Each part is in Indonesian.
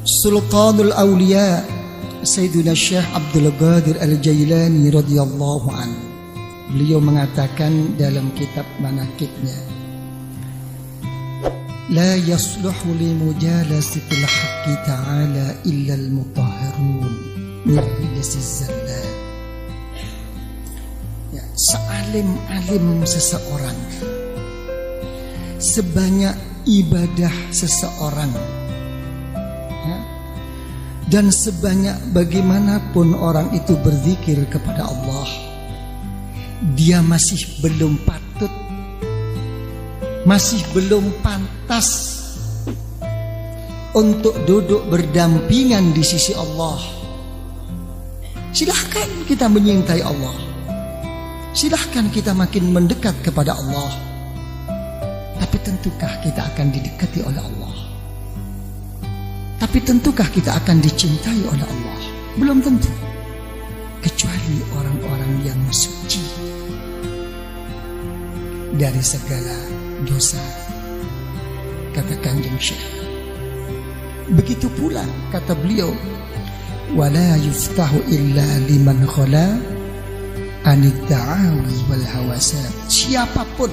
Sultanul Awliya Sayyidina Syekh Abdul Qadir Al-Jailani radhiyallahu anhu, beliau mengatakan dalam kitab manaqibnya, la yasluhu li mujalasatil haqqi ta'ala illa al-mutahharun min rijsiz zallat. Ya, sealim-alim seseorang, sebanyak ibadah seseorang, ya, dan sebanyak bagaimanapun orang itu berzikir kepada Allah, dia masih belum patut, masih belum pantas untuk duduk berdampingan di sisi Allah. Silahkan kita menyintai Allah, silahkan kita makin mendekat kepada Allah, tapi tentukah kita akan didekati oleh Allah? Tapi tentukah kita akan dicintai oleh Allah? Belum tentu, kecuali orang-orang yang suci dari segala dosa, kata Kanjeng Syekh. Begitu pula kata beliau, wala yuftahu illa liman khala anid da'awi wal hawasat. Siapapun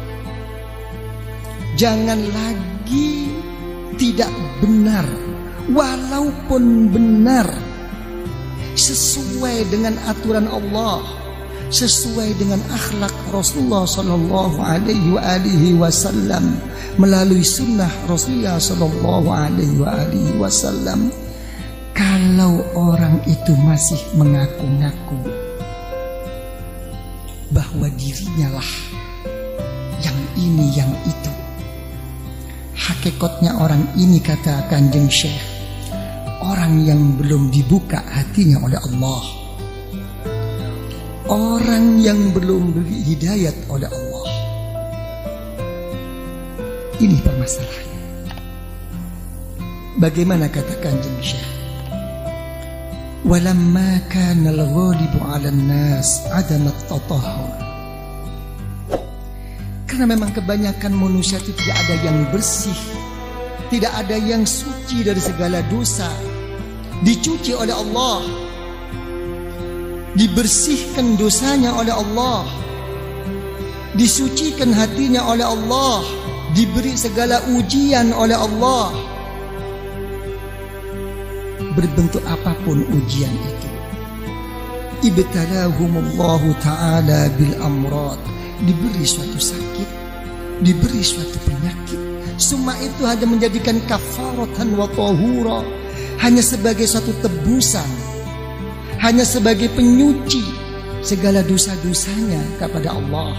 jangan lagi tidak benar, walaupun benar sesuai dengan aturan Allah, sesuai dengan akhlak Rasulullah sallallahu alaihi wasallam, melalui sunnah Rasulullah sallallahu alaihi wasallam. Kalau orang itu masih mengaku-ngaku bahwa dirinya lah yang ini yang itu, hakikatnya orang ini, kata Kanjeng Syekh, orang yang belum dibuka hatinya oleh Allah, orang yang belum diberi hidayat oleh Allah. Ini permasalahannya. Bagaimana kata Kanjeng Syekh, walamma kana al-ghalibu 'ala an-nas 'adam at-tatahhur. Karena memang kebanyakan manusia itu tidak ada yang bersih, tidak ada yang suci dari segala dosa, dicuci oleh Allah, dibersihkan dosanya oleh Allah, disucikan hatinya oleh Allah, diberi segala ujian oleh Allah. Berbentuk apapun ujian itu, ibtalahumullahu ta'ala bil amrad, diberi suatu sakit, diberi suatu penyakit. Semua itu hanya menjadikan kafaratan wa tahura, hanya sebagai suatu tebusan, hanya sebagai penyuci segala dosa-dosanya kepada Allah.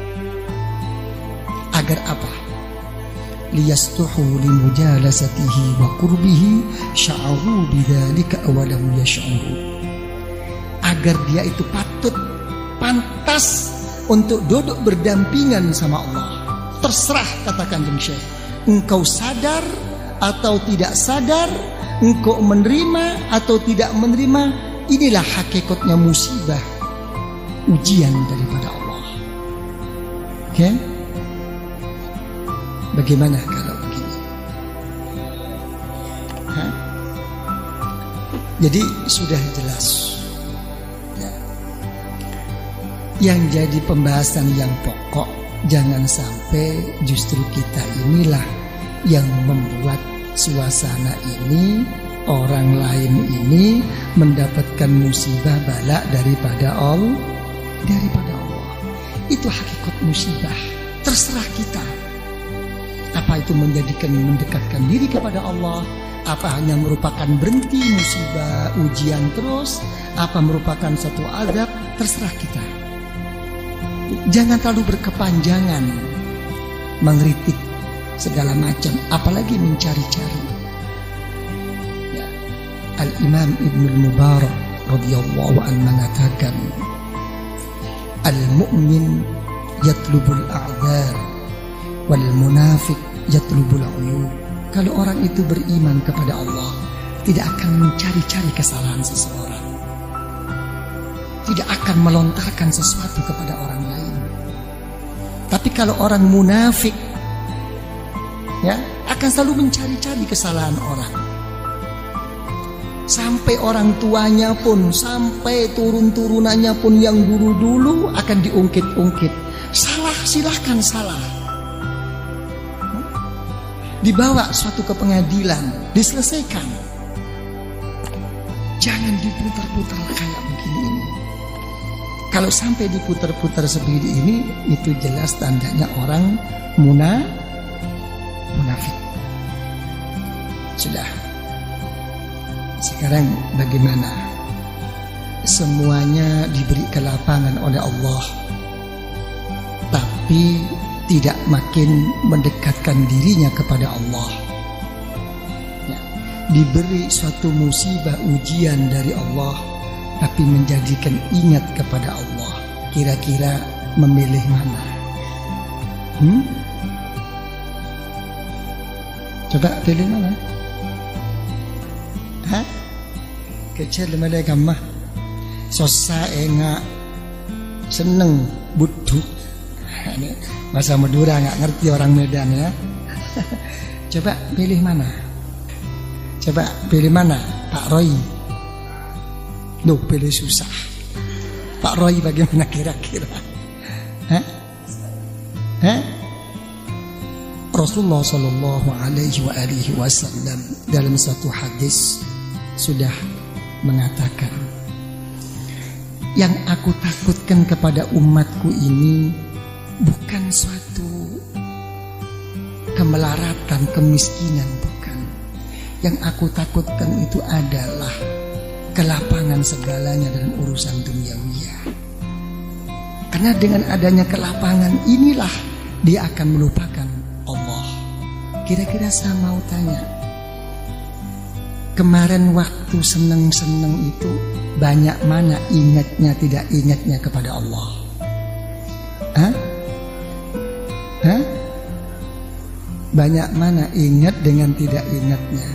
Agar apa? Liyastuhu limujalasatihi wa qurbihi sya'aru bidzalika awalam yash'uru. Agar dia itu patut, pantas untuk duduk berdampingan sama Allah. Terserah, kata Kanjeng Syekh, engkau sadar atau tidak sadar, engkau menerima atau tidak menerima, inilah hakikatnya musibah, ujian daripada Allah. Oke? Bagaimana kalau begini? Hah? Jadi sudah jelas ya. Yang jadi pembahasan yang pokok, jangan sampai justru kita inilah yang membuat suasana ini, orang lain ini mendapatkan musibah bala daripada Allah. Itu hakikat musibah. Terserah kita. Apa itu mendekatkan diri kepada Allah? Apa hanya merupakan berhenti musibah, ujian terus? Apa merupakan satu azab? Terserah kita. Jangan terlalu berkepanjangan mengkritik segala macam, apalagi mencari-cari. Ya. Al-Imam Ibnul Mubarak radhiyallahu anhu mengatakan, al-mu'min yatlubul a'dzar wal munafiq yatlubul uyub. Kalau orang itu beriman kepada Allah, tidak akan mencari-cari kesalahan seseorang, tidak akan melontarkan sesuatu kepada orang lain. Tapi kalau orang munafik, ya, akan selalu mencari-cari kesalahan orang. Sampai orang tuanya pun, sampai turun-turunannya pun yang dulu akan diungkit-ungkit. Salah, silahkan salah. Dibawa suatu ke pengadilan, diselesaikan. Jangan diputar-putar kayak begini ini. Kalau sampai diputar-putar seperti ini, itu jelas tandanya orang munafik. Sudah. Sekarang bagaimana? Semuanya diberi kelapangan oleh Allah, tapi tidak makin mendekatkan dirinya kepada Allah. Ya, diberi suatu musibah ujian dari Allah, tapi menjadikan ingat kepada Allah. Kira-kira memilih mana? Coba pilih mana? Kecil mereka mah susah enggak seneng buduk. Ini bahasa Madura nggak ngerti orang Medan ya. Coba pilih mana? Coba pilih mana? Pak Roy. Duh, pilih susah. Pak Roy bagaimana kira-kira? Rasulullah Shallallahu Alaihi Wasallam dalam satu hadis sudah mengatakan, yang aku takutkan kepada umatku ini bukan suatu kemelaratan, kemiskinan, bukan. Yang aku takutkan itu adalah kelapangan segalanya dalam urusan duniawiya. Karena dengan adanya kelapangan inilah dia akan melupakan Allah. Kira-kira saya mau tanya, kemarin waktu seneng-seneng itu banyak mana ingatnya, tidak ingatnya kepada Allah? Banyak mana ingat dengan tidak ingatnya?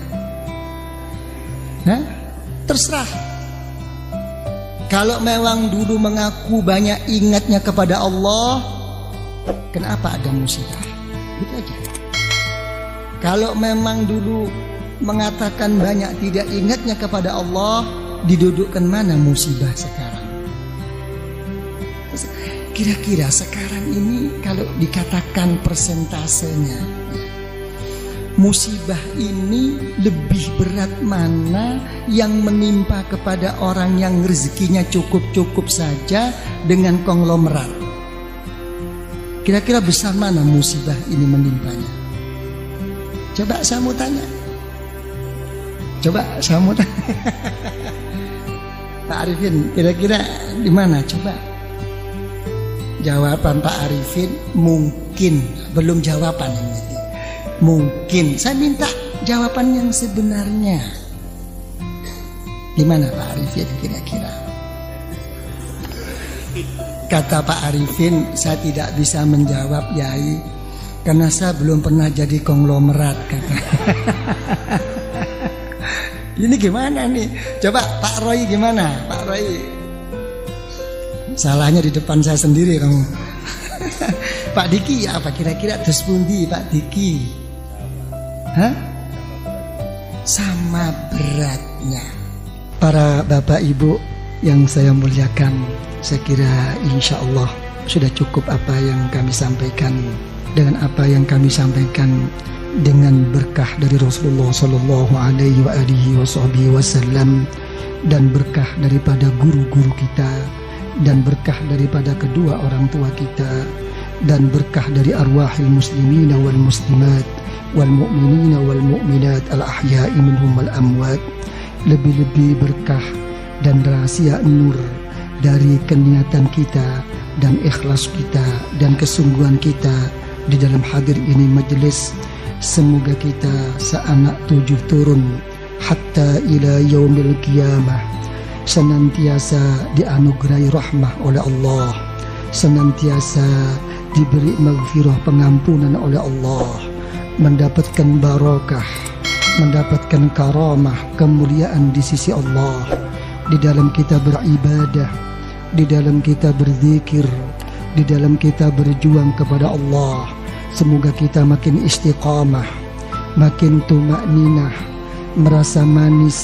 Terserah. Kalau memang dulu mengaku banyak ingatnya kepada Allah, kenapa ada musibah? Gitu aja. Kalau memang dulu mengatakan banyak tidak ingatnya kepada Allah, didudukkan mana musibah sekarang? Kira-kira sekarang ini kalau dikatakan persentasenya, musibah ini lebih berat mana yang menimpa kepada orang yang rezekinya cukup-cukup saja dengan konglomerat? Kira-kira besar mana musibah ini menimpanya? Coba saya mau tanya. Pak Arifin, kira-kira di mana? Coba. Jawaban Pak Arifin mungkin, belum jawaban ini. Mungkin. Saya minta jawaban yang sebenarnya. Di mana Pak Arifin kira-kira? Kata Pak Arifin, saya tidak bisa menjawab, Yai, karena saya belum pernah jadi konglomerat, kata. Ini gimana nih? Coba Pak Roy gimana? Pak Roy, salahnya di depan saya sendiri kamu. Pak Diki ya apa kira-kira terus pundi Pak Diki? Sama beratnya. Para bapak ibu yang saya muliakan, saya kira insya Allah sudah cukup apa yang kami sampaikan. Dengan apa yang kami sampaikan, dengan berkah dari Rasulullah Sallallahu Alaihi Wasallam dan berkah daripada guru-guru kita dan berkah daripada kedua orang tua kita dan berkah dari arwahil muslimina wal muslimat wal mu'minina wal mu'minat al ahya'i minhum wal amwat, lebih-lebih berkah dan rahasia nur dari keniatan kita dan ikhlas kita dan kesungguhan kita di dalam hadir ini majelis. Semoga kita seanak 7 turun hatta ila yaumil qiyamah senantiasa dianugerahi rahmah oleh Allah, senantiasa diberi maghfirah, pengampunan oleh Allah, mendapatkan barakah, mendapatkan karamah, kemuliaan di sisi Allah, di dalam kita beribadah, di dalam kita berzikir, di dalam kita berjuang kepada Allah. Semoga kita makin istiqamah, makin tumakninah, merasa manis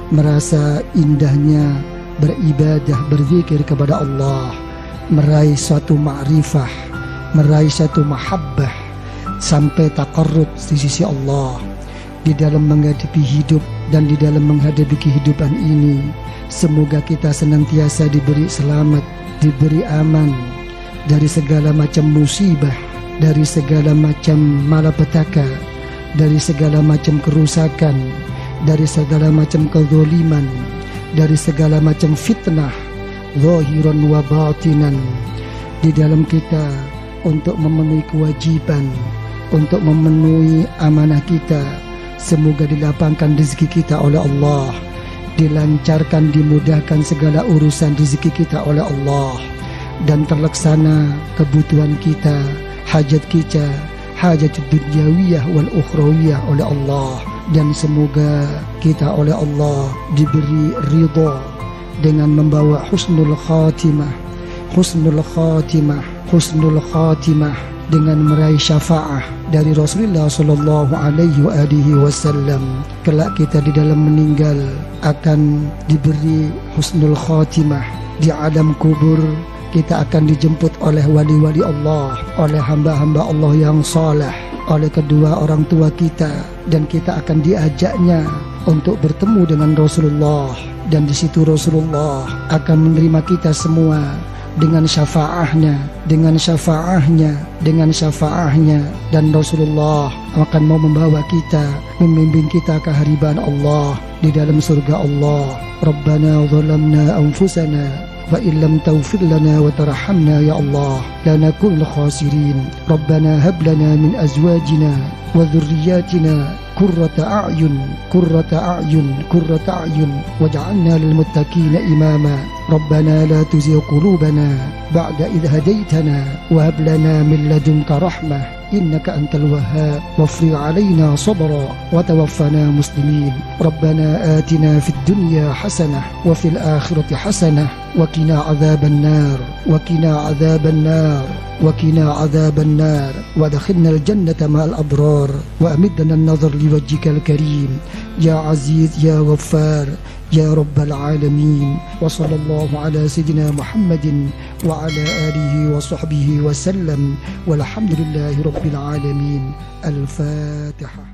merasa indahnya beribadah, berzikir kepada Allah, meraih suatu ma'rifah, meraih suatu mahabbah, sampai taqarrub di sisi Allah. Di dalam menghadapi hidup dan di dalam menghadapi kehidupan ini, semoga kita senantiasa diberi selamat, diberi aman dari segala macam musibah, dari segala macam malapetaka, dari segala macam kerusakan, dari segala macam kezaliman, dari segala macam fitnah, zahiran wa batinan, di dalam kita untuk memenuhi kewajiban, untuk memenuhi amanah kita. Semoga dilapangkan rezeki kita oleh Allah, dilancarkan, dimudahkan segala urusan rezeki kita oleh Allah, dan terlaksana kebutuhan kita, hajat kita, hajat dunyawiyah wal ukhrawiyah oleh Allah. Dan semoga kita oleh Allah diberi ridha dengan membawa husnul khatimah, husnul khatimah, husnul khatimah, dengan meraih syafaah dari Rasulullah sallallahu alaihi wasallam. Kelak kita di dalam meninggal akan diberi husnul khatimah di alam kubur. Kita akan dijemput oleh wali-wali Allah, oleh hamba-hamba Allah yang saleh, oleh kedua orang tua kita, dan kita akan diajaknya untuk bertemu dengan Rasulullah. Dan di situ Rasulullah akan menerima kita semua dengan syafaahnya, dengan syafaahnya, dengan syafaahnya. Dan Rasulullah akan mau membawa kita, membimbing kita ke hariban Allah di dalam surga Allah. Rabbana zalamna anfusana wa illam taghfir lana wa tarhamna ya Allah lanakunanna khasirin. Rabbana hab lana min azwajina wa dhurriyyatina qurrata a'yun, qurrata a'yun, qurrata a'yun waj'alna lil muttaqina imama. Rabbana la tuzigh qulubana ba'da idh hadaytana wa hab lana min ladunka rahmah innaka antal wahhab wafrigh 'alaina sabra wa tawaffana muslimin. Rabbana atina fid dunya hasanah wa fil akhirati hasanah wa qina 'adzaban nar wa qina 'adzaban nar wa qina 'adzaban nar wa adkhilna al jannata ma'al abrar wa amidna an-nazar liwajhikal karim ya aziz ya ghaffar ya rabbal alamin. Wa sallallahu ala sayyidina Muhammadin wa ala alihi wa sahbihi wa sallam walhamdulillahi rabbil alamin. Al-Fatihah.